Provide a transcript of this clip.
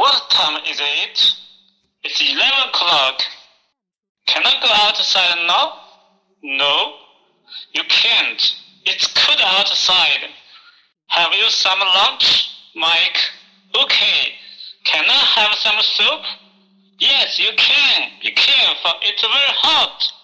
What time is it? It's 11 o'clock. Can I go outside now? No, you can't. It's cold outside. Have you some lunch, Mike? Okay. Can I have some soup? Yes, you can. Be careful, it's very hot.